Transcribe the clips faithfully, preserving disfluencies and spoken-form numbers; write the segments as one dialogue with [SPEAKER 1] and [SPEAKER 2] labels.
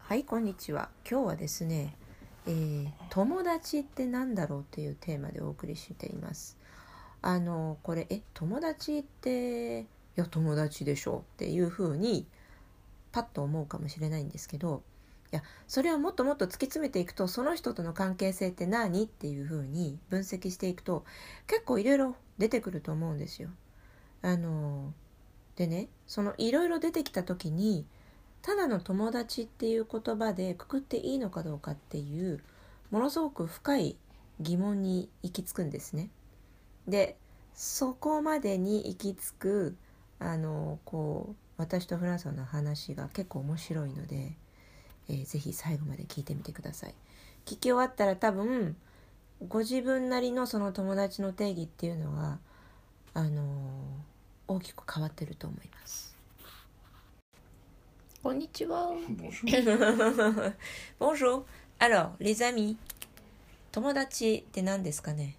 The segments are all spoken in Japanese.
[SPEAKER 1] はい、こんにちは。今日はですね、えー、友達ってなんだろうというテーマでお送りしています。あのこれえ友達っていや友達でしょっていうふうにパッと思うかもしれないんですけど、いやそれをもっともっと突き詰めていくと、その人との関係性って何っていうふうに分析していくと結構いろいろ出てくると思うんですよ。あのでね、そのいろいろ出てきた時にただの友達っていう言葉でくくっていいのかどうかっていうものすごく深い疑問に行き着くんですね。でそこまでに行き着くあのこう私とフランさんの話が結構面白いので、えー、ぜひ最後まで聞いてみてください。聞き終わったら多分ご自分なりのその友達の定義っていうのがあの大きく変わってると思います。こんにちは。
[SPEAKER 2] Bonjour.
[SPEAKER 1] Bonjour. Alors, les amis. 友達って何ですかね。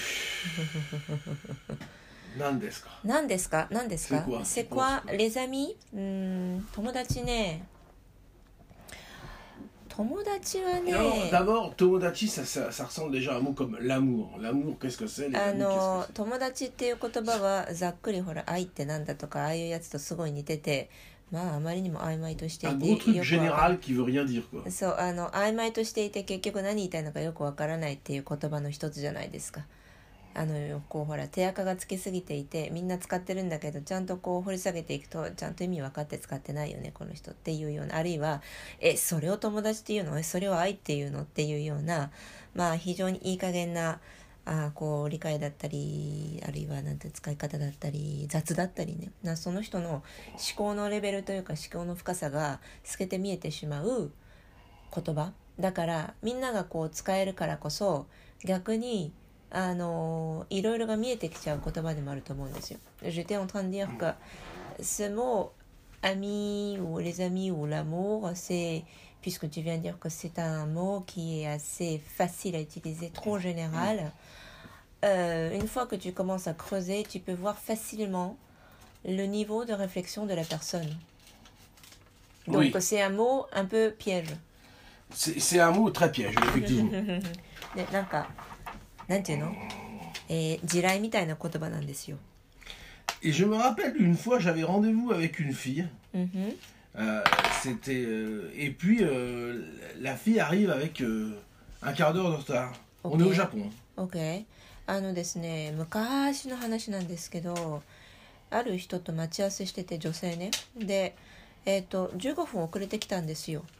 [SPEAKER 2] 何ですか。
[SPEAKER 1] 何ですか。何ですか。
[SPEAKER 2] C'est quoi?
[SPEAKER 1] C'est quoi les amis? うーん、友達ね。友達はね。
[SPEAKER 2] Alors, d'abord, tomodachi, ça, ça, ça ressemble déjà à un mot comme l'amour. L'amour, qu'est-ce que c'est? Les
[SPEAKER 1] あ
[SPEAKER 2] amis,
[SPEAKER 1] の
[SPEAKER 2] qu'est-ce que c'est?
[SPEAKER 1] 友達っていう言葉はざっくりほら愛ってなんだとかああいうやつとすごい似てて、まああまりにも曖昧としてい
[SPEAKER 2] Un
[SPEAKER 1] て
[SPEAKER 2] gros truc
[SPEAKER 1] よくわか
[SPEAKER 2] général qui veut rien dire, quoi.
[SPEAKER 1] そうあの曖昧としていて結局何言いたいのかよくわからないっていう言葉の一つじゃないですか。あのこうほら手垢がつきすぎていてみんな使ってるんだけど、ちゃんとこう掘り下げていくとちゃんと意味分かって使ってないよねこの人っていうような、あるいはえそれを友達っていうの、えそれを愛っていうのっていうような、まあ非常にいい加減なあこう理解だったり、あるいはなんて使い方だったり雑だったりね、なその人の思考のレベルというか思考の深さが透けて見えてしまう言葉だから、みんながこう使えるからこそ逆にあのいろいろが見えてきちゃう言葉でもあると思うんですよ。J'étais en train de dire que ce mot ami ou les amis ou l'amour, c'est, puisque tu viens de dire que c'est un mot qui est assez facile à utiliser, trop général, euh, une fois que tu commences à creuser, tu peux voir facilement le niveau de réflexion de la personne. Donc
[SPEAKER 2] Oui.
[SPEAKER 1] c'est un mot un peu piège.
[SPEAKER 2] C'est, c'est un mot très piège, effectivement.
[SPEAKER 1] でなんかなんていうの、えー、地雷みたいな言葉なんですよ。
[SPEAKER 2] Et je me rappelle une fois, j'avais rendez-vous avec une fille.
[SPEAKER 1] うんふん
[SPEAKER 2] Euh, c'était, euh, et puis, euh, la fille arrive avec euh, un quart d'heure de retard. On est au
[SPEAKER 1] Ok.
[SPEAKER 2] Japon.
[SPEAKER 1] OK。 あのですね、昔の話なんですけど、ある人と待ち合わせしてて、女性ね。で、えっと、じゅうごふん遅れてきたんですよ。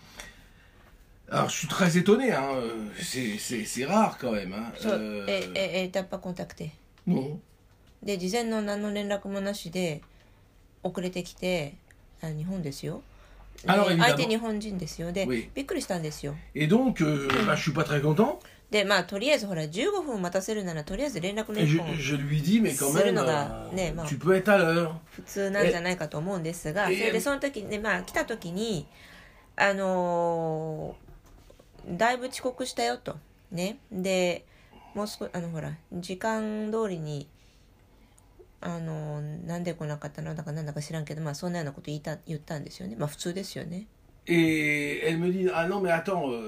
[SPEAKER 2] Alors, je suis très étonné, hein. euh, C'est, c'est, c'est rare quand même. Hein.
[SPEAKER 1] そう、
[SPEAKER 2] Euh,
[SPEAKER 1] え、え、え、タッパコンタクテ。
[SPEAKER 2] non.
[SPEAKER 1] で、事前の何の連絡もなしで遅れてきて、あ、日本ですよ。で
[SPEAKER 2] Alors,
[SPEAKER 1] 相手
[SPEAKER 2] évidemment.
[SPEAKER 1] 日本人ですよ。で、
[SPEAKER 2] Oui.
[SPEAKER 1] びっくりしたんですよ。
[SPEAKER 2] Et donc, euh, bah, je suis pas très content.
[SPEAKER 1] で、まあ、とりあえずほら、じゅうごふん待たせるなら、とりあえず連絡の
[SPEAKER 2] Et
[SPEAKER 1] 一
[SPEAKER 2] je,
[SPEAKER 1] 本
[SPEAKER 2] je lui dis, mais quand même, euh,
[SPEAKER 1] né, bah.
[SPEAKER 2] tu peux être à l'heure.
[SPEAKER 1] 普通なんじゃないかと思うんですが、それでその時ね、まあ来た時にあのー、だいぶ遅刻したよとね。でもう少しあのほら時間通りにあのー、なんで来なかったのだかなんだか知らんけど、まあそんなようなこと言いた言ったんですよね。まあ普通ですよね。
[SPEAKER 2] Et elle me dit, ah non, mais attends, euh,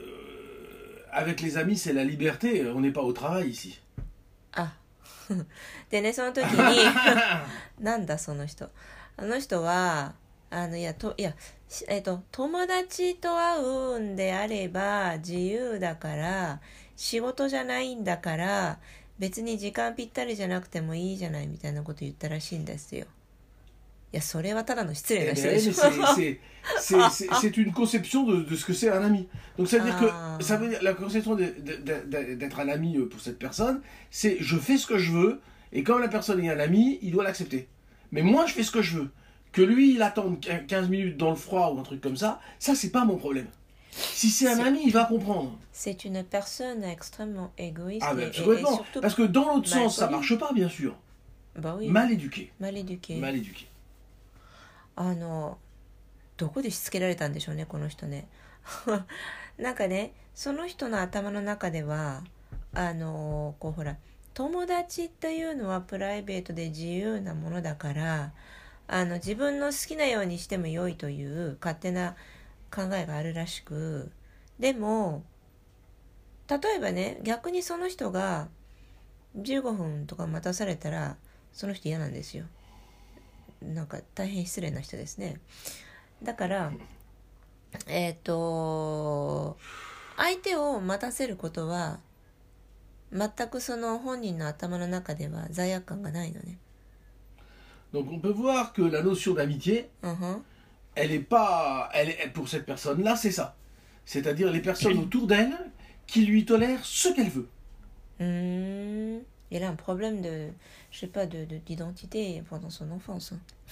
[SPEAKER 2] avec les amis, c'est la liberté, on n'est pas au travail ici.
[SPEAKER 1] あでね、その時になんだその人、あの人はあのいやといやえっと友達と会うんであれば自由だから仕事じゃないんだから別に時間ぴったりじゃなくてもいいじゃないみたいなこと言ったらしいんですよ。いやそれはただの失礼
[SPEAKER 2] Eh
[SPEAKER 1] な
[SPEAKER 2] ben,
[SPEAKER 1] 人
[SPEAKER 2] mais
[SPEAKER 1] でしょ。
[SPEAKER 2] c'est, c'est, c'est, c'est, c'est une conception de, de ce que c'est un ami. Donc ça veut dire
[SPEAKER 1] Ah.
[SPEAKER 2] que ça veut dire, la conception de, de, de, d'être un ami pour cette personne, c'est je fais ce que je veux, et quand la personne est un ami, il doit l'accepter. Mais moi, je fais ce que je veux. Que lui, il attende quinze minutes dans le froid ou un truc comme ça, ça, c'est pas mon problème. Si c'est un
[SPEAKER 1] C'est-
[SPEAKER 2] ami, il va comprendre.
[SPEAKER 1] C'est une personne extrêmement égoïste.
[SPEAKER 2] Ah,
[SPEAKER 1] et-
[SPEAKER 2] ben,
[SPEAKER 1] et- et
[SPEAKER 2] absolument.
[SPEAKER 1] surtout
[SPEAKER 2] Parce que dans l'autre
[SPEAKER 1] mal
[SPEAKER 2] sens, ça
[SPEAKER 1] poli.
[SPEAKER 2] marche pas, bien sûr.
[SPEAKER 1] bah oui,
[SPEAKER 2] Mal éduqué.
[SPEAKER 1] mal éduqué.
[SPEAKER 2] Mal éduqué.
[SPEAKER 1] あのどこでしつけられたんでしょうねこの人ね。なんかね、その人の頭の中ではあのこうほら友達というのはプライベートで自由なものだから、あの自分の好きなようにしても良いという勝手な考えがあるらしく、でも例えばね、逆にその人がじゅうごふんとか待たされたらその人嫌なんですよ。なんか大変失礼な人ですね。だからえっと相手を待たせることは全くその本人の頭の中では罪悪感がないのね。
[SPEAKER 2] Donc on peut voir que la notion d'amitié,
[SPEAKER 1] uh-huh.
[SPEAKER 2] elle est pas, elle est, pour cette personne-là, c'est ça. C'est-à-dire les personnes autour d'elle qui lui tolèrent ce qu'elle veut.
[SPEAKER 1] Mmh. Il a un problème de, je sais pas, de, de, d'identité pendant son enfance.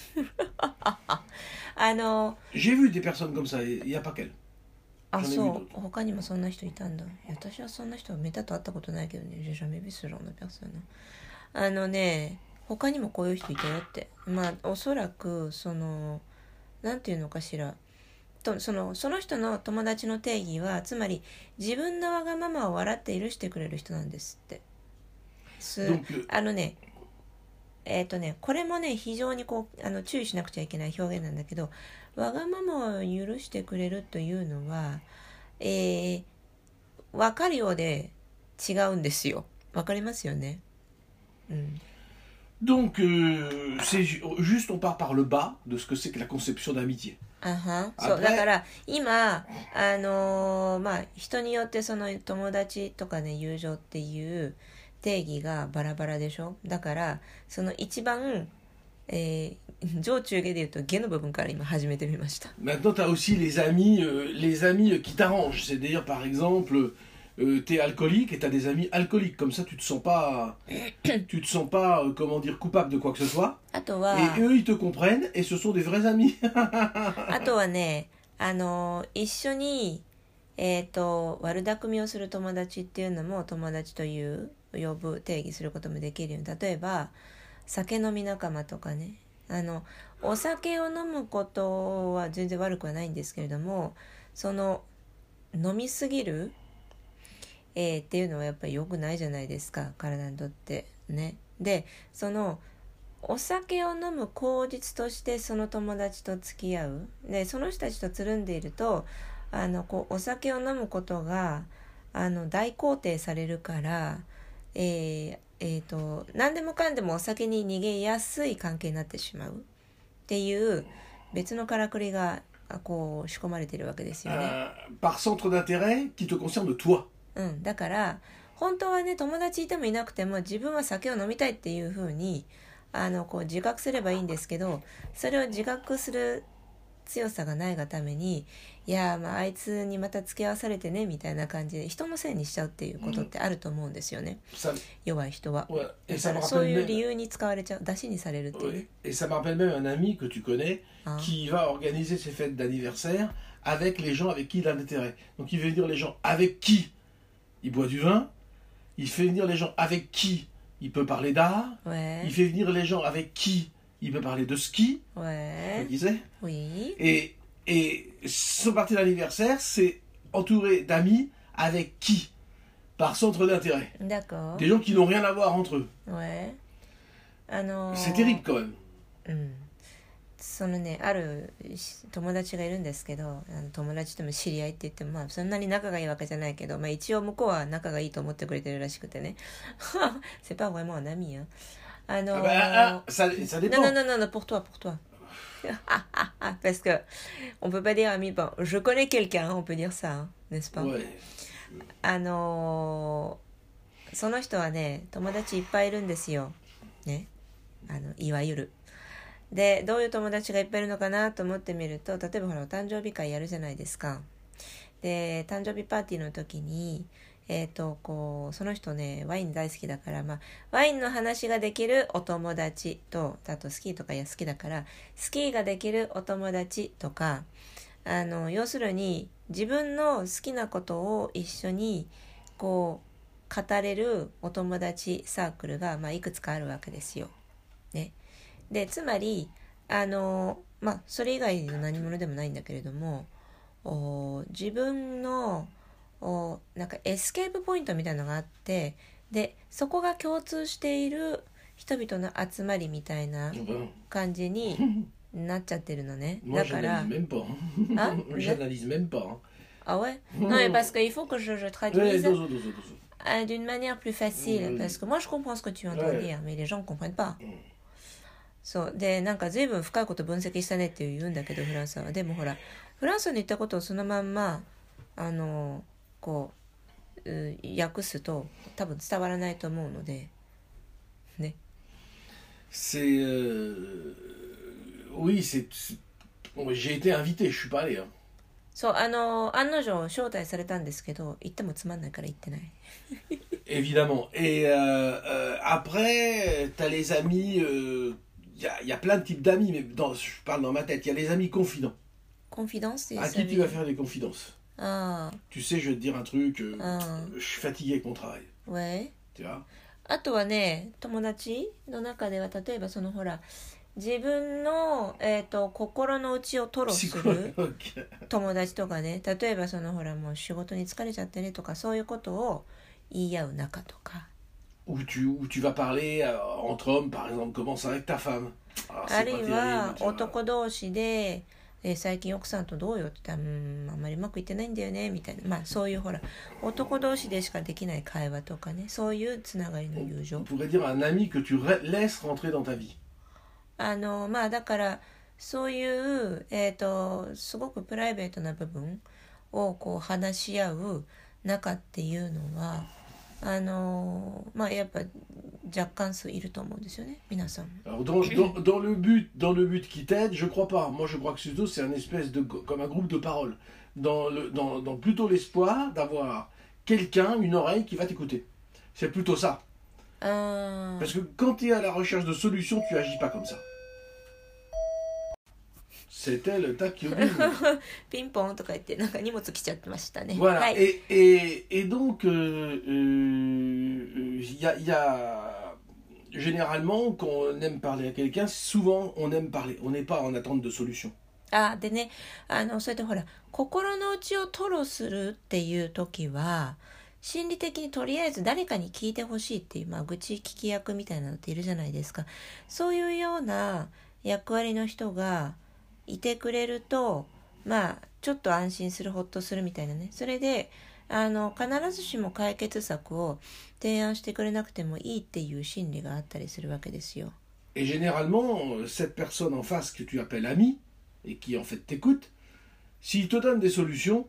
[SPEAKER 1] あの
[SPEAKER 2] J'ai vu des personnes comme ça, il n'y a pas qu'elle.
[SPEAKER 1] あ、そう、他にもそんな人いたんだ。私はそんな人はめったと会ったことないけどね。J'ai jamais vu ce genre de personne. あのね、他にもこういう人いたよって。まあおそらくそのなんていうのかしら。とそのその人の友達の定義はつまり自分のわがままを笑って許してくれる人なんですって。あのね、えっとね、これもね非常にこうあの注意しなくちゃいけない表現なんだけど、わがままを許してくれるというのは、えー、分かるようで違うんですよ。分かりますよね。うん。
[SPEAKER 2] Donc, euh, c'est juste, on part par le bas de ce que c'est que la conception d'amitié.
[SPEAKER 1] あは、そうだから今あのー、まあ人によってその友達とかね友情っていう定義がバラバラでしょ。だからその一番、えー、上中下で言うと下の部分から今始めてみました。
[SPEAKER 2] Maintenant, tu as aussi les amis, euh, les amis qui t'arrangent. C'est-à-dire, par exemple, euh, tu es alcoolique et tu as des amis alcooliques. Comme ça, tu te sens pas, tu te sens pas, euh, comment dire, coupable de quoi que ce soit. Et eux, ils te comprennent et ce sont des vrais amis.
[SPEAKER 1] あとはね、あの一緒にえっと悪巧みをする友達っていうのも友達という呼ぶ定義することもできるように、例えば酒飲み仲間とかね、あのお酒を飲むことは全然悪くはないんですけれども、その飲みすぎる、えー、っていうのはやっぱり良くないじゃないですか、体にとってね。でそのお酒を飲む口実としてその友達と付き合う。でその人たちとつるんでいるとあのこうお酒を飲むことがあの大肯定されるから、えーえー、と何でもかんでもお酒に逃げやすい関係になってしまうっていう別のからくりがこう仕込まれているわけですよね。
[SPEAKER 2] Uh, par centre d'intérêt qui te concerne toi.
[SPEAKER 1] うん、だから本当はね友達いてもいなくても自分は酒を飲みたいっていう風にあのこう自覚すればいいんですけど、それを自覚する強さがないがために、いやまああいつにまた付き合わされてねみたいな感じで人のせいにしちゃうっていうことってあると思うんですよね、うん、弱い人は。だからそういう理由に使われちゃう、出しにされるっていうね。
[SPEAKER 2] Et ça me rappelle même un ami que tu connais qui va organiser ses fêtes d'anniversaire avec les gens avec qui il a l'intérêt. Donc il fait venir les gens avec qui il boit du vin, il fait venir les gens avec qui il peut parler d'art,
[SPEAKER 1] ouais.
[SPEAKER 2] il fait venir les gens avec qui il peut parler de ski,
[SPEAKER 1] ouais.
[SPEAKER 2] tu sais.
[SPEAKER 1] Oui.
[SPEAKER 2] Et, et son parti d'anniversaire, c'est entouré d'amis avec qui, par centre d'intérêt.
[SPEAKER 1] D'accord.
[SPEAKER 2] Des gens qui n'ont rien à voir entre eux.
[SPEAKER 1] Ouais. Alors...
[SPEAKER 2] C'est terrible quand même.
[SPEAKER 1] うん。そのね、ある友達がいるんですけど、あの友達とも知り合いって言っても、まあそんなに仲がいいわけじゃないけど、まあ一応向こうは仲がいいと思ってくれてるらしくてね。C'est pas vraiment un ami, hein. あのー、
[SPEAKER 2] ah bah, ah, ça, ça dépend.
[SPEAKER 1] Non, non, non, non, pour toi, pour toi. Parce que on peut pas dire ami. Bon, je connais quelqu'un, on peut dire ça, hein, n'est-ce pas?
[SPEAKER 2] Ouais.
[SPEAKER 1] あのー、その人はね、友達いっぱいいるんですよ。ね。あのいわゆる。でどういう友達がいっぱいいるのかなと思ってみると、例えばほらお誕生日会やるじゃないですか。で誕生日パーティーの時にえっとこうその人ねワイン大好きだから、まあ、ワインの話ができるお友達と、あとスキーとかや好きだからスキーができるお友達とか、あの要するに自分の好きなことを一緒にこう語れるお友達サークルが、まあ、いくつかあるわけですよ。ね。でつまりあのまあそれ以外の何者でもないんだけれども、お自分のおなんかエスケープポイントみたいなのがあって、でそこが共通している人々の集まりみたいな感じになっちゃってるのね。
[SPEAKER 2] Moi,
[SPEAKER 1] だから
[SPEAKER 2] j'analyse même pas.
[SPEAKER 1] Ah,
[SPEAKER 2] J'analyse même pas. Hein.
[SPEAKER 1] ah ouais, non mais parce qu'il faut que je, je
[SPEAKER 2] Ouais,
[SPEAKER 1] traduise
[SPEAKER 2] dozo, dozo, dozo.
[SPEAKER 1] euh, d'une manière plus facile,
[SPEAKER 2] Oui.
[SPEAKER 1] parce que moi je comprends ce que tu es en train de
[SPEAKER 2] Ouais.
[SPEAKER 1] dire, mais les gens ne comprennent pas.
[SPEAKER 2] うん
[SPEAKER 1] そうで、なんか随分深いこと分析したねって言うんだけど、フランスは。でもほら、フランスの言ったことをそのまんまあのこうう訳すと多分伝わらないと思うのでね。
[SPEAKER 2] C'est. euh, Oui, c'est. c'est- Bon, j'ai été invité, je suis pas allé. Hein.
[SPEAKER 1] そうあの案の定招待されたんですけど、行ってもつまんないから行ってない。
[SPEAKER 2] Évidemment. Et euh, euh, après, t'as les amis. Il y, a, y a plein de types d'amis, mais dans, je parle dans ma tête. Il y a les amis confidents.
[SPEAKER 1] コンフィデンス
[SPEAKER 2] À qui tu vas faire des confidences.
[SPEAKER 1] あ
[SPEAKER 2] Tu sais, je vais te dire un truc. euh,
[SPEAKER 1] Ah.
[SPEAKER 2] Je suis fatigué avec mon travail.
[SPEAKER 1] あ、ウェイ。
[SPEAKER 2] Tu vois.
[SPEAKER 1] あとはね、友達の中では例えばそのほら自分の、えー、と心の内を吐露する
[SPEAKER 2] Psychologue.
[SPEAKER 1] 友達とかね、例えばそのほらもう仕事に疲れちゃってねとかそういうことを言い合う仲とか、
[SPEAKER 2] Où tu, où tu vas parler euh, entre hommes, par exemple, comment ça va avec ta femme. Ah,
[SPEAKER 1] あ
[SPEAKER 2] c'est
[SPEAKER 1] る
[SPEAKER 2] pas
[SPEAKER 1] い
[SPEAKER 2] terrible.
[SPEAKER 1] は
[SPEAKER 2] Tu vois.
[SPEAKER 1] 男同士で、えー最近奥さんとどうよって言ったら、うーんあんまりうまくいってないんだよねみたいな、まあそういうほら男同士でしかできない会話とかね、そういうつながりの友情
[SPEAKER 2] On pourrait dire un ami que tu re- laisses rentrer dans ta vie.
[SPEAKER 1] あのまあだからそういうえっ、とすごくプライベートな部分をこう話し合う仲っていうのはあのまあやっぱ若干数いると思うんですよね、皆さん。
[SPEAKER 2] Alors dans, dans, dans le but, dans le but qui t'aide, je crois pas. Moi, je crois que plutôt c'est un espèce de comme un groupe de paroles. Dans le, dans, dans plutôt l'espoir d'avoir quelqu'un, une oreille qui va t'écouter. C'est plutôt ça.
[SPEAKER 1] あ
[SPEAKER 2] Parce que quand tu es à la recherche de solutions, tu agis pas comme ça. C'était le tac qui oblige.
[SPEAKER 1] ピンポンとか言ってなんか荷物来ちゃってましたね。
[SPEAKER 2] Voilà.
[SPEAKER 1] はい。
[SPEAKER 2] Et, et, et donc, euh, euh, il y a, il y a généralement quand on aime parler à quelqu'un, souvent on aime parler. On n'est pas en attente de solution.
[SPEAKER 1] あでね、あのそれでほら心の内を吐露するっていう時は心理的にとりあえず誰かに聞いてほしいっていう、まあ、愚痴聞き役みたいなのっているじゃないですか。そういうような役割の人がいてくれると、まあちょっと安心する、ほっとするみたいなね。それであの必ずしも解決策を提案してくれなくてもいいっていう心理があったりするわけですよ。
[SPEAKER 2] Et généralement, cette personne en face que tu appelles ami, et qui en fait t'écoute, s'il te donne des solutions,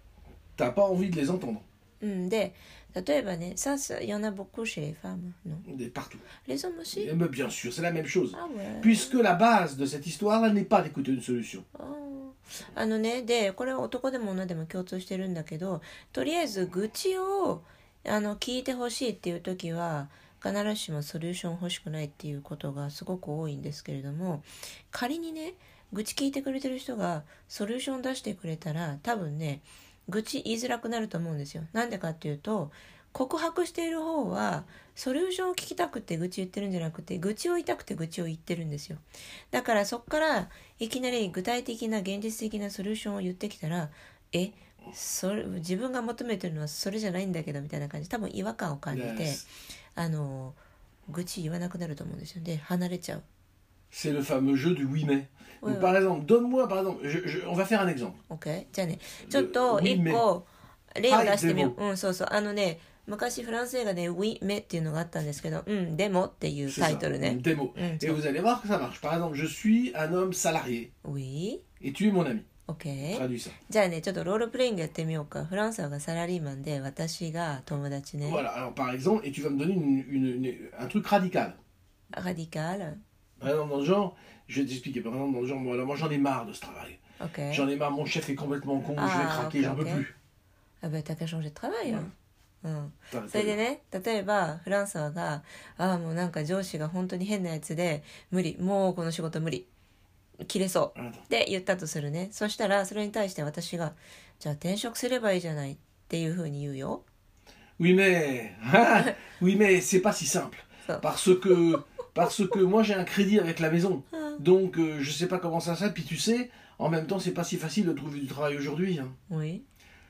[SPEAKER 2] t'as pas envie de les entendre.
[SPEAKER 1] うんで、例えばね、ça, il y en a beaucoup chez les femmes, non?
[SPEAKER 2] Des- Partout.
[SPEAKER 1] Les hommes aussi?
[SPEAKER 2] Et, mais bien sûr, c'est la même chose.
[SPEAKER 1] Ah ouais.
[SPEAKER 2] Puisque la base de cette histoire-là n'est pas d'écouter une solution.
[SPEAKER 1] あーあのね、でこれは男でも女でも共通してるんだけど、とりあえず愚痴をあの聞いてほしいっていう時は必ずしもソリューション欲しくないっていうことがすごく多いんですけれども、仮にね愚痴聞いてくれてる人がソリューション出してくれたら多分ね愚痴言いづらくなると思うんですよ。なんでかっていうと、告白している方はソリューションを聞きたくて愚痴言ってるんじゃなくて、愚痴を言いたくて愚痴を言ってるんですよ。だからそっからいきなり具体的な現実的なソリューションを言ってきたら、えそれ自分が求めてるのはそれじゃないんだけどみたいな感じ、多分違和感を感じて、
[SPEAKER 2] Yes.
[SPEAKER 1] あの愚痴言わなくなると思うんですよ。で離れちゃう。
[SPEAKER 2] C'est le fameux jeu du oui mais.
[SPEAKER 1] Ouais,
[SPEAKER 2] Donc,
[SPEAKER 1] ouais.
[SPEAKER 2] par exemple, donne-moi, par exemple, je- je- on va faire un exemple.
[SPEAKER 1] OK? じゃあね、ちょっと
[SPEAKER 2] oui,
[SPEAKER 1] 一個例を出してみよう。
[SPEAKER 2] はい
[SPEAKER 1] うん、そうそう。あのね、昔フランス映画で Oui mais っていうのがあったんですけど、うんでもっていう
[SPEAKER 2] C'est
[SPEAKER 1] タ
[SPEAKER 2] ça,
[SPEAKER 1] イトル
[SPEAKER 2] une
[SPEAKER 1] ね。
[SPEAKER 2] démo.
[SPEAKER 1] Mm,
[SPEAKER 2] Et
[SPEAKER 1] ça.
[SPEAKER 2] vous allez voir que ça marche. Par exemple, je suis un homme salarié
[SPEAKER 1] Oui?
[SPEAKER 2] et tu es mon ami.
[SPEAKER 1] OK?
[SPEAKER 2] Traduis ça.
[SPEAKER 1] じゃあね、ちょっとロールプレイングやってみようか。フランスはがサラリーマンで、私が友達ね。
[SPEAKER 2] Voilà, alors par exemple, et tu vas me donner une- une- une- un truc radical.
[SPEAKER 1] ラディカル。
[SPEAKER 2] Par exemple, dans le genre, je vais t'expliquer, par exemple, dans le genre, moi, là, moi j'en ai marre de ce travail.
[SPEAKER 1] OK?
[SPEAKER 2] J'en ai marre, mon chef est complètement con, je vais
[SPEAKER 1] Ah,
[SPEAKER 2] craquer,
[SPEAKER 1] ok,
[SPEAKER 2] j'en peux
[SPEAKER 1] ok.
[SPEAKER 2] plus.
[SPEAKER 1] Ah ben t'as qu'à changer de travail よ。うん。
[SPEAKER 2] T'as-
[SPEAKER 1] それでね、例えばフランスはが、ああもうなんか上司が本当に変なやつで、無理、もうこの仕事無理。切れそう。
[SPEAKER 2] Attends.
[SPEAKER 1] って言ったとするね。そしたらそれに対して私が、じゃあ転職すればいいじゃないっていう風に言うよ。
[SPEAKER 2] Oui, mais, ah, oui, mais c'est pas si simple.
[SPEAKER 1] Ça.
[SPEAKER 2] Parce que, parce que moi j'ai un crédit avec la maison. Donc euh, je sais pas comment ça se fait. Puis tu sais, en même temps, c'est pas si facile de trouver du travail aujourd'hui. Hein.
[SPEAKER 1] Oui.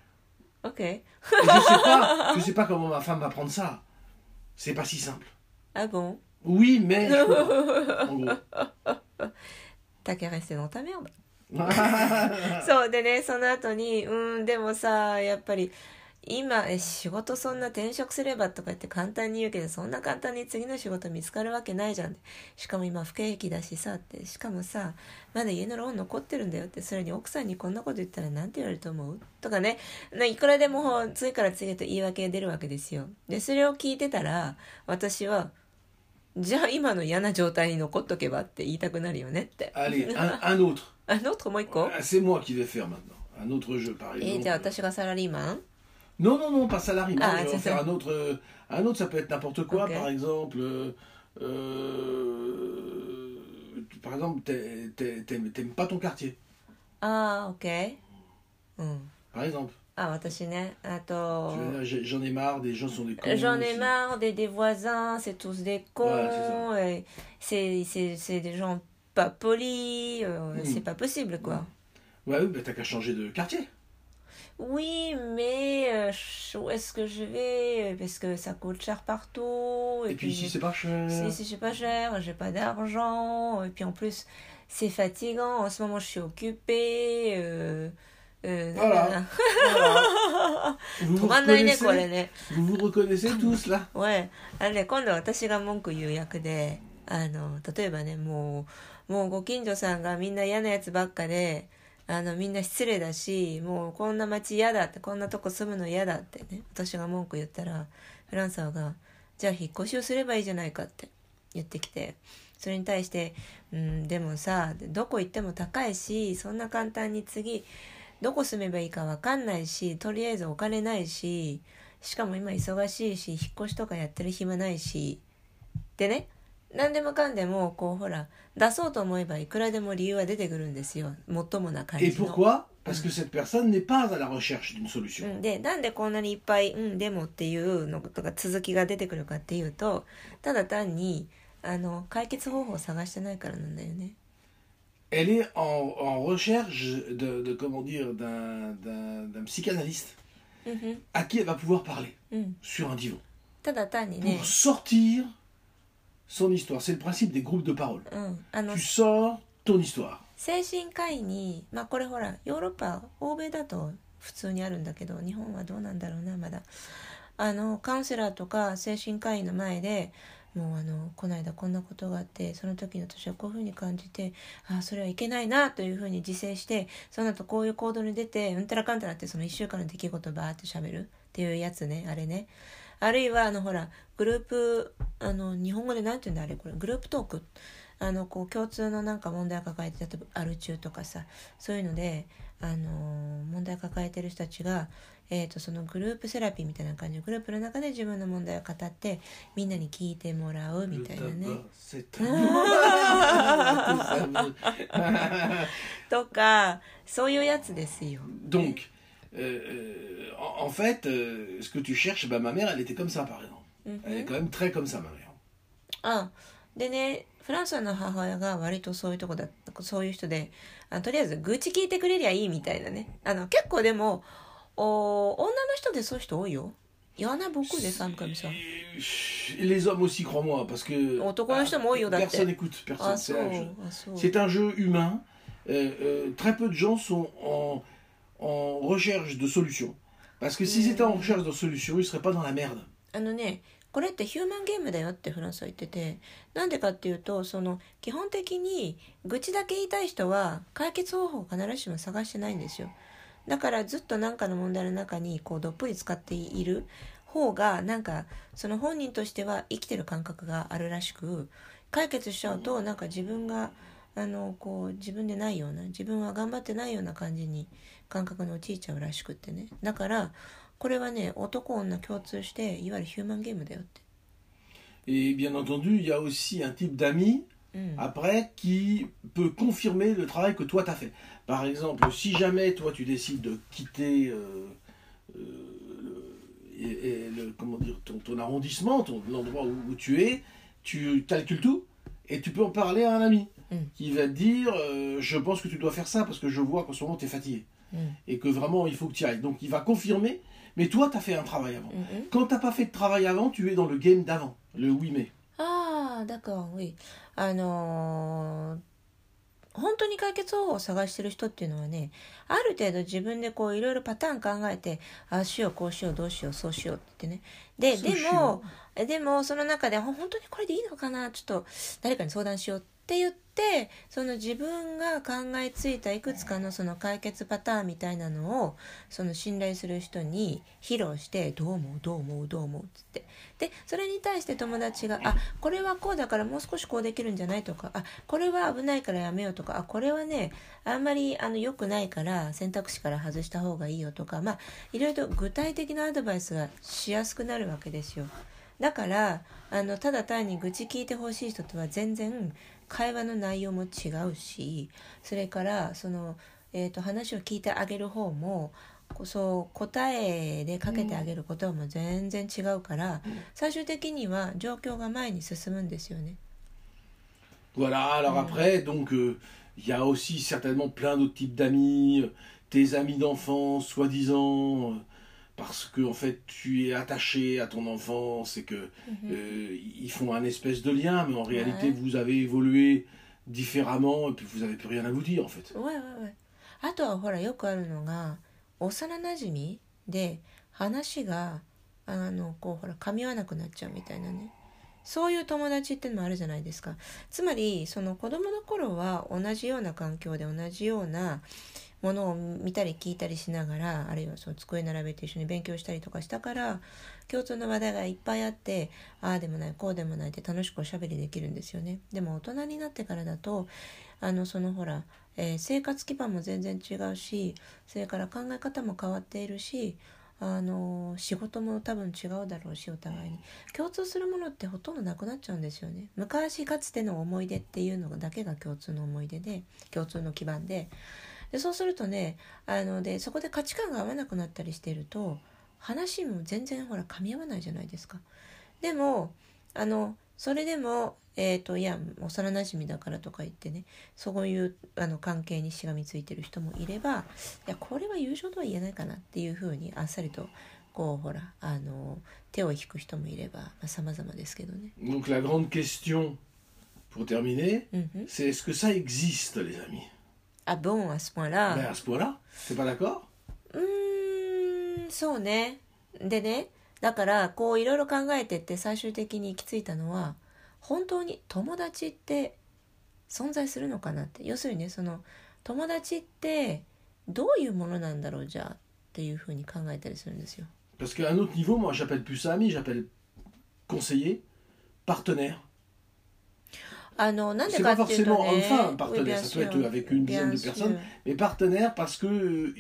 [SPEAKER 1] OK.
[SPEAKER 2] Et je sais pas, je sais pas comment ma femme va prendre ça. C'est pas si simple.
[SPEAKER 1] Ah bon?
[SPEAKER 2] Oui, mais je peux pas, en gros.
[SPEAKER 1] T'as qu'à rester dans ta merde. そうでね、その後にうんでもさやっぱり今え仕事そんな転職すればとか言って簡単に言うけどそんな簡単に次の仕事見つかるわけないじゃん。しかも今不景気だしさってしかもさまだ家のローン残ってるんだよってそれに奥さんにこんなこと言ったらなんて言われると思うとかねいくらでも次から次へと言い訳が出るわけですよ。でそれを聞いてたら私はじゃあ今の嫌な状態に残っとけばって言いたくなるよねって。
[SPEAKER 2] Allez, un, un autre.
[SPEAKER 1] Un autre もう一個
[SPEAKER 2] C'est moi qui vais faire maintenant. Un autre jeu, par
[SPEAKER 1] え
[SPEAKER 2] exemple.
[SPEAKER 1] じゃあ私がサラリーマン
[SPEAKER 2] Non, non, non, pas salarié.
[SPEAKER 1] Ah,
[SPEAKER 2] je vais
[SPEAKER 1] c'est
[SPEAKER 2] faire
[SPEAKER 1] ça.
[SPEAKER 2] un autre. euh, Un autre, ça peut être n'importe quoi.
[SPEAKER 1] Ok.
[SPEAKER 2] Par exemple, euh, euh, par exemple, t'es- t'es- t'aimes t'aimes pas ton quartier.
[SPEAKER 1] ああ、オッケー。うん。
[SPEAKER 2] Par exemple.
[SPEAKER 1] あ、私ね。あ
[SPEAKER 2] Tu
[SPEAKER 1] と
[SPEAKER 2] vas dire, j'ai- j'en ai marre, des gens sont des cons.
[SPEAKER 1] j'en ai
[SPEAKER 2] c'est-
[SPEAKER 1] marre des, des voisins, c'est tous des cons,
[SPEAKER 2] Voilà,
[SPEAKER 1] et c'est c'est c'est des gens pas polis, euh,
[SPEAKER 2] Mm.
[SPEAKER 1] c'est pas possible quoi.
[SPEAKER 2] Ouais, oui, bah t'as qu'à changer de quartier.
[SPEAKER 1] Oui, mais euh, ch- où est-ce que je vais? Parce que ça coûte cher partout.
[SPEAKER 2] Et, puis, si
[SPEAKER 1] j'ai-
[SPEAKER 2] c'est pas cher.
[SPEAKER 1] si, si c'est pas cher, j'ai pas d'argent. Et puis en plus, c'est fatigant. En ce moment, je suis occupée. Euh, euh,
[SPEAKER 2] Voilà. Voilà. Vous vous
[SPEAKER 1] 止まんないねこれ
[SPEAKER 2] reconnaissez,
[SPEAKER 1] ね。
[SPEAKER 2] vous vous reconnaissez tous là.
[SPEAKER 1] Ouais. あのね、今度は私が文句言う役で、あの例えばね、もうもうご近所さんがみんな嫌なやつばっかで、あのみんな失礼だし、もうこんな街嫌だって、こんなとこ住むの嫌だってね、私が文句言ったらフランサーがじゃあ引っ越しをすればいいじゃないかって言ってきて、それに対して、うん、でもさどこ行っても高いし、そんな簡単に次どこ住めばいいか分かんないし、とりあえずお金ないし、しかも今忙しいし、引っ越しとかやってる暇ないしでね、何でもかんでもこうほら出そうと思えばいくらでも理由は出てくるんですよ。もっともな感
[SPEAKER 2] Et
[SPEAKER 1] じの。
[SPEAKER 2] pourquoi? Parce que cette personne n'est pas à la recherche d'une
[SPEAKER 1] う
[SPEAKER 2] solution.
[SPEAKER 1] ん、でなんでこんなにいっぱい「うんでも」っていうのとか続きが出てくるかっていうと、ただ単にあの解決方法を探してないからなんだよね。
[SPEAKER 2] Elle est en, en recherche de, de comment dire, d'un, d'un, d'un psychanalyste
[SPEAKER 1] うんうん
[SPEAKER 2] à qui elle va pouvoir parler
[SPEAKER 1] うん、
[SPEAKER 2] sur un divan
[SPEAKER 1] ただ単にね
[SPEAKER 2] pour、sortir son histoire. C'est le principe des groupes de parole.
[SPEAKER 1] うん、あの
[SPEAKER 2] Tu sors ton histoire.
[SPEAKER 1] 精神科医に、まあこれほらヨーロッパ欧米だと普通にあるんだけど、日本はどうなんだろうな、まだあのカウンセラーとか精神科医の前でもうあのこの間こんなことがあって、その時の私はこういうふうに感じて、ああそれはいけないなというふうに自制して、その後こういう行動に出てうんたらかんたらってそのいっしゅうかんの出来事をバーって喋るっていうやつね、あれね。あるいはあのほらグループ、あの日本語でなんて言うんだあれ、これグループトーク、あのこう共通のなんか問題を抱えて、例えばアル中とかさ、そういうのであの問題を抱えてる人たちが、えー、とそのグループセラピーみたいな感じでグループの中で自分の問題を語ってみんなに聞いてもらうみたいなね。
[SPEAKER 2] C'est un-
[SPEAKER 1] とかそういうやつですよ。
[SPEAKER 2] Donc, euh, en, en fait, euh, ce que tu cherches, bah, ma mère, elle était comme ça, par exemple. Elle est quand même très comme ça, ma mère.
[SPEAKER 1] あでね、フランスの母親が割とそういうとこだ、そういう人で、あとりあえず愚痴聞いてくれりゃいいみたいなね。あの結構でもお女の人でそういう人多いよ。Il y en a beaucoup des femmes comme ça.
[SPEAKER 2] Et les hommes aussi, crois-moi, parce que
[SPEAKER 1] 男の人も多いよだって。
[SPEAKER 2] personne n'écoute, personne.
[SPEAKER 1] あ、そ
[SPEAKER 2] C'est
[SPEAKER 1] う
[SPEAKER 2] un jeu.
[SPEAKER 1] あ、そう。
[SPEAKER 2] C'est un jeu humain. Euh, euh, très peu de gens sont en, en recherche de solutions. Parce que s'ils étaient en recherche de solutions, ils ne seraient pas dans la merde.
[SPEAKER 1] あのね、これってヒューマンゲームだよってフランスは言ってて、なんでかっていうと、その基本的に愚痴だけ言いたい人は解決方法を必ずしも探してないんですよ。だからずっと何かの問題の中にこうどっぷり使っている方が、なんかその本人としては生きてる感覚があるらしく、解決しちゃうとなんか自分があのこう自分でないような、自分は頑張ってないような感じに感覚に陥っちゃうらしくってね。だからこれはね、男女共通していわゆるヒューマンゲームだよって。
[SPEAKER 2] Et bien entendu, il y a aussi un type d'amis,
[SPEAKER 1] うん、
[SPEAKER 2] après, qui peut confirmer le travail que toi, tu as fait. Par exemple, si jamais, toi, tu décides de quitter euh, euh, et, et le, comment dire, ton, ton arrondissement, ton, l'endroit où, où tu es, tu calcules tout, et tu peux en parler à un ami,
[SPEAKER 1] Mm.
[SPEAKER 2] qui va te dire, euh, je pense que tu dois faire ça, parce que je vois qu'en ce moment, tu es fatigué,
[SPEAKER 1] うん、
[SPEAKER 2] et que vraiment, il faut que tu y ailles. Donc, il va confirmer, mais toi, tu as fait un travail avant.
[SPEAKER 1] うんうん。
[SPEAKER 2] Quand tu n'as pas fait de travail avant, tu es dans le game d'avant, le oui mais.
[SPEAKER 1] ああ、だから、oui。あのー本当に解決方法を探してる人っていうのはね、ある程度自分でこういろいろパターン考えて、ああしようこうしようどうしようそうしようってね。ででもでもその中で本当にこれでいいのかな、ちょっと誰かに相談しようって言って、その自分が考えついたいくつかのその解決パターンみたいなのをその信頼する人に披露して、どう思うどう思うどう思うっつって、でそれに対して友達が、あこれはこうだからもう少しこうできるんじゃないとか、あこれは危ないからやめようとか、あこれはねあんまりあの良くないから選択肢から外した方がいいよとか、まあいろいろと具体的なアドバイスがしやすくなるわけですよ。だからあのただ単に愚痴聞いてほしい人とは全然会話の内容も違うし、それからその、えーと、話を聞いてあげる方もそう答えでかけてあげることも全然違うから、最終的には状況が前に進むんですよね。
[SPEAKER 2] Voilà, alors après, donc, il euh, y a aussi certainement plein d'autres types d'amis, tes amis d'enfance, soi-disant, parce que en fait, tu es attaché à ton enfance et que mm-hmm. euh, ils font un espèce de lien, mais en réalité, ouais. vous avez évolué différemment et puis vous n'avez plus rien à vous dire, en fait.
[SPEAKER 1] Ouais, ouais, ouais. あとはほらよくあるのが、幼なじみで話があのこうほら噛み合わなくなっちゃうみたいなね、そういう友達ってのもあるじゃないですか。つまりその子供の頃は同じような環境で同じようなものを見たり聞いたりしながら、あるいはその机並べて一緒に勉強したりとかしたから共通の話題がいっぱいあって、ああでもないこうでもないって楽しくおしゃべりできるんですよね。でも大人になってからだとあのそのほら、えー、生活基盤も全然違うし、それから考え方も変わっているし、あの仕事も多分違うだろうし、お互いに共通するものってほとんどなくなっちゃうんですよね。昔かつての思い出っていうのだけが共通の思い出で、共通の基盤で、でそうするとね、あのでそこで価値観が合わなくなったりしていると話も全然ほら噛み合わないじゃないですか。でもあのそれでもえーといや幼なじみだからとか言ってね、そういうあの関係にしがみついてる人もいれば、いやこれは友情とは言えないかなっていうふうにあっさりとこうほらあの手を引く人もいれば、まあ、様々ですけどね。
[SPEAKER 2] Donc la grande question pour terminer, mm-hmm. c'est est-ce que ça existe les amis?
[SPEAKER 1] Ah bon, à ce point-là?
[SPEAKER 2] Ben à ce point-là, t'es pas d'accord?
[SPEAKER 1] うーん、そうね。でね、だからこういろいろ考えてって最終的に行き着いたのは、本当に友達って存在するのかなって。要するにね、その友達ってどういうものなんだろうじゃあっていうふうに考えたりするんですよ。
[SPEAKER 2] Parce qu'à un autre niveau, moi j'appelle plus ça ami, j'appelle conseiller, partenaire.
[SPEAKER 1] あのなんで
[SPEAKER 2] c'est
[SPEAKER 1] か
[SPEAKER 2] pas
[SPEAKER 1] っていうと
[SPEAKER 2] forcément
[SPEAKER 1] ね、
[SPEAKER 2] homme-femme, partenaire,
[SPEAKER 1] oui,
[SPEAKER 2] ça
[SPEAKER 1] sûr,
[SPEAKER 2] peut être avec une dizaine de personnes, mais partenaire parce que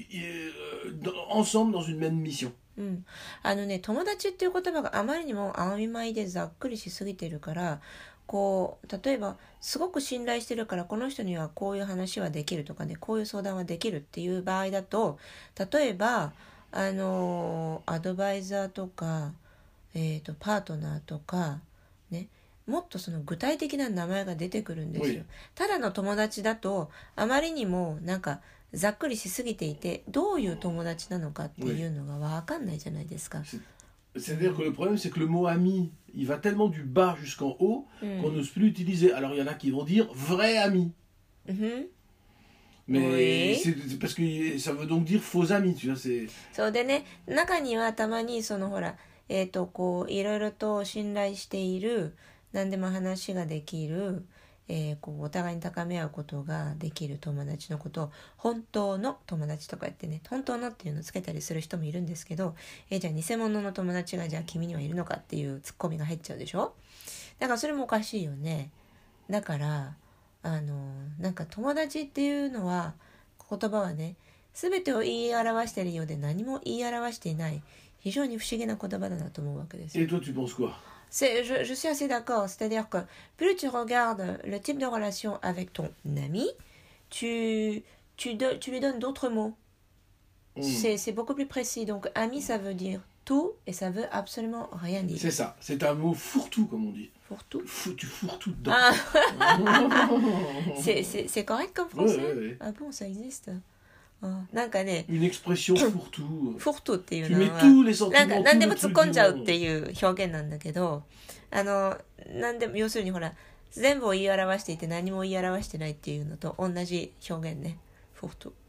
[SPEAKER 2] euh, ensemble dans une même mission.
[SPEAKER 1] うん、あのね友達っていう言葉があまりにも曖昧でざっくりしすぎてるから、こう例えばすごく信頼してるからこの人にはこういう話はできるとかね、こういう相談はできるっていう場合だと、例えばあのアドバイザーとか、えーと、パートナーとかね、もっとその具体的な名前が出てくるんですよ。ただの友達だとあまりにもなんかざっくりしすぎていて、どういう友達なのかっていうのが分かんないじゃないですか。
[SPEAKER 2] C'est-à-dire que le problème, c'est que le mot ami, il va tellement du bas jusqu'en haut mm. qu'on n'ose plus l'utiliser. Alors, il y en a qui vont dire vrai ami.
[SPEAKER 1] Mm-hmm.
[SPEAKER 2] Mais oui. c'est parce que ça veut donc dire faux ami, tu vois. C'est...
[SPEAKER 1] そうでね、中にはたまにそのほら、えっと、こう、いろいろと信頼している、何でも話ができる、えー、こうお互いに高め合うことができる友達のことを本当の友達とか言ってね、本当のっていうのをつけたりする人もいるんですけど、えー、じゃあ偽物の友達がじゃあ君にはいるのかっていうツッコミが入っちゃうでしょ。だからそれもおかしいよね。だからあのなんか友達っていうのは言葉はね、全てを言い表しているようで何も言い表していない非常に不思議な言葉だなと思うわけですよ。
[SPEAKER 2] Et toi, tu penses quoi?
[SPEAKER 1] C'est, je, je suis assez d'accord, c'est-à-dire que plus tu regardes le type de relation avec ton ami, tu, tu, de, tu lui donnes d'autres mots. Mm. C'est, c'est beaucoup plus précis. Donc ami, ça veut dire tout et ça veut absolument rien dire.
[SPEAKER 2] C'est ça, c'est un mot fourre-tout comme on dit.
[SPEAKER 1] Fourre-tout
[SPEAKER 2] Fou, tu fourres tout dedans.
[SPEAKER 1] Ah. c'est, c'est, c'est correct comme français?
[SPEAKER 2] Ouais, ouais, ouais.
[SPEAKER 1] Ah bon, ça existe? なんかね、
[SPEAKER 2] une expression fourre-tout.
[SPEAKER 1] fourre-tout っていうのは、
[SPEAKER 2] なんか
[SPEAKER 1] 何でも突っ込んじゃうっていう表現なんだけど、あの何でも要するにほら全部を言い表していて何も言い表してないっていうのと同じ表現ね。フォート。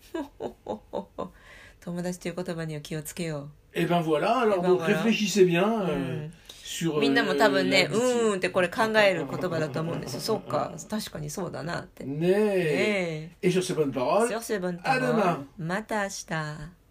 [SPEAKER 1] 友達という言葉には気をつけよう。
[SPEAKER 2] Et ben voilà, alors
[SPEAKER 1] ben
[SPEAKER 2] donc
[SPEAKER 1] voilà.
[SPEAKER 2] réfléchissez bien euh,
[SPEAKER 1] うん
[SPEAKER 2] sur
[SPEAKER 1] みんなも多分ね、
[SPEAKER 2] euh,
[SPEAKER 1] う
[SPEAKER 2] la
[SPEAKER 1] ーんってこれ考える言葉だと思うんですよ。そうか、確かにそうだなって。
[SPEAKER 2] né.
[SPEAKER 1] ねえ。
[SPEAKER 2] Et sur ces bonnes paroles,
[SPEAKER 1] Sur ce bon
[SPEAKER 2] à demain.
[SPEAKER 1] また明日。